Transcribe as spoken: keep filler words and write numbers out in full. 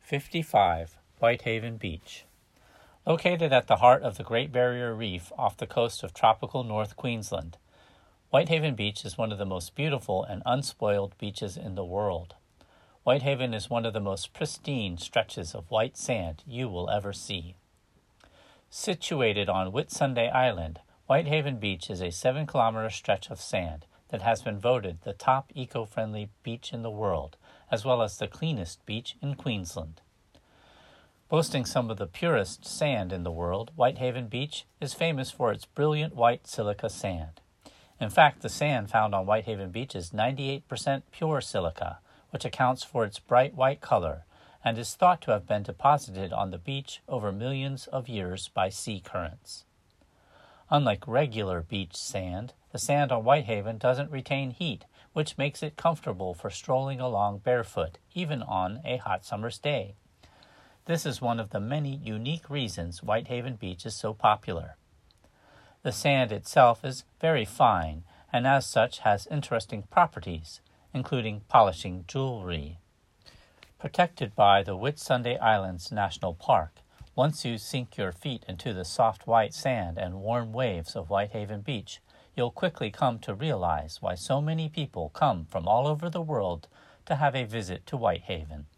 fifty-five, Whitehaven Beach. Located at the heart of the Great Barrier Reef off the coast of tropical North Queensland, Whitehaven Beach is one of the most beautiful and unspoiled beaches in the world. Whitehaven is one of the most pristine stretches of white sand you will ever see. Situated on Whitsunday Island, Whitehaven Beach is a seven-kilometer stretch of sand that has been voted the top eco-friendly beach in the world, as well as the cleanest beach in Queensland. Boasting some of the purest sand in the world, Whitehaven Beach is famous for its brilliant white silica sand. In fact, the sand found on Whitehaven Beach is ninety-eight percent pure silica, which accounts for its bright white color, and is thought to have been deposited on the beach over millions of years by sea currents. Unlike regular beach sand, the sand on Whitehaven doesn't retain heat, which makes it comfortable for strolling along barefoot, even on a hot summer's day. This is one of the many unique reasons Whitehaven Beach is so popular. The sand itself is very fine, and as such has interesting properties, including polishing jewelry. Protected by the Whitsunday Islands National Park, once you sink your feet into the soft white sand and warm waves of Whitehaven Beach, you'll quickly come to realize why so many people come from all over the world to have a visit to Whitehaven.